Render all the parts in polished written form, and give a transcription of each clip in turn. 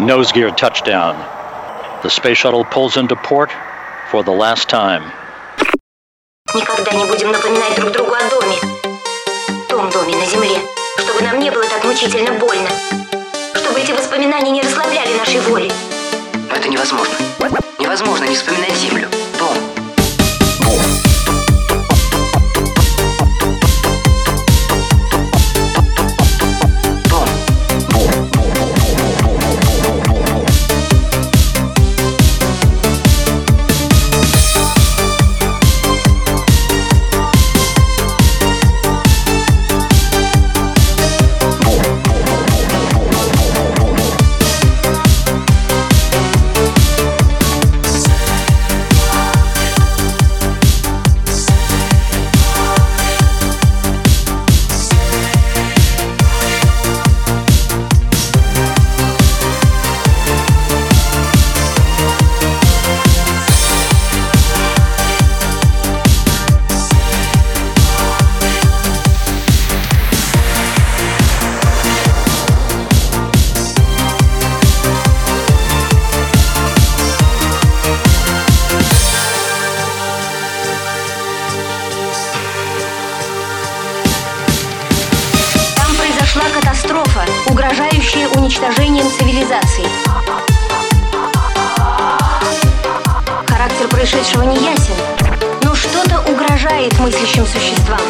Nose gear touchdown. The space shuttle pulls into port for the last time. Никогда не будем напоминать друг другу о доме. Том доме на земле. Чтобы нам не было так мучительно больно. Чтобы эти воспоминания не расслабляли нашей воли. Но это невозможно. Невозможно не вспоминать землю. Дом. Катастрофа, угрожающая уничтожением цивилизации. Характер происшедшего не ясен, но что-то угрожает мыслящим существам.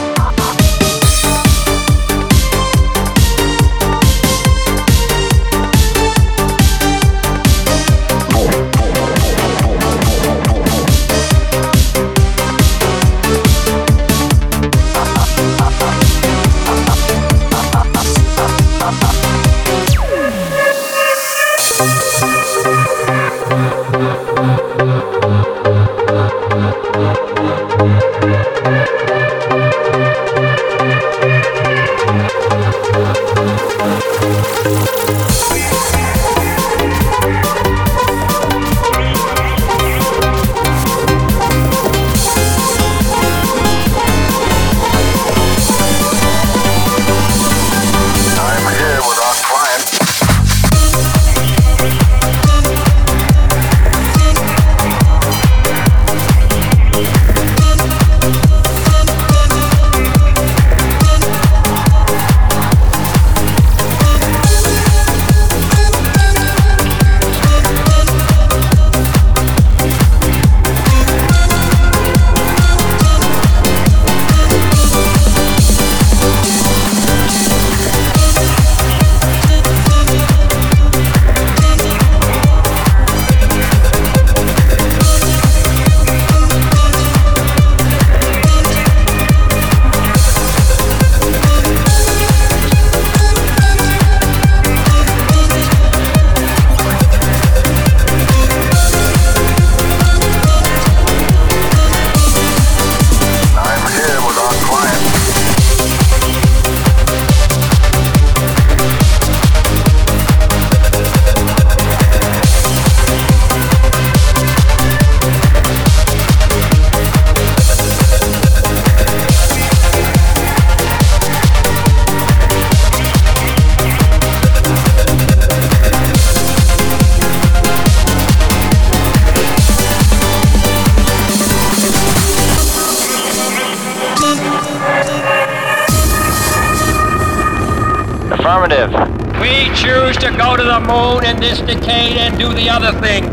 Affirmative. We choose to go to the moon in this decade and do the other thing.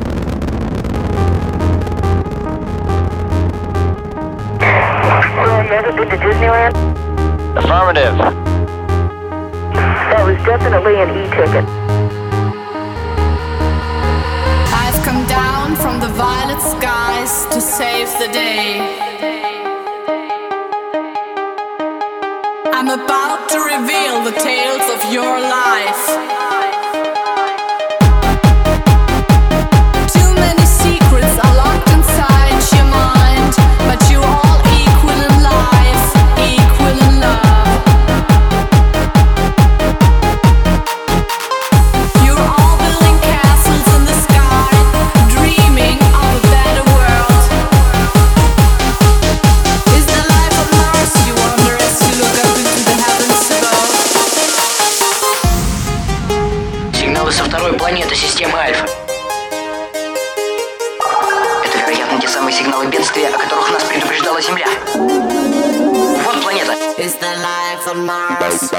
So, you ever been to Disneyland? Affirmative. That was definitely an e-ticket. I've come down from the violet skies to save the day. I'm about to reveal the tales of your life. Too many secrets are locked inside your mind, but you're all equal in life, equal in love. You're all building castles in the sky, dreaming of a better world. Is the life on Mars, you wonder, as you look up into the heavens above? самые сигналы бедствия, о которых нас предупреждала Земля. Вот планета. It's the life on Mars.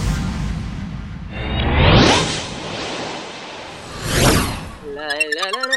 La la la la.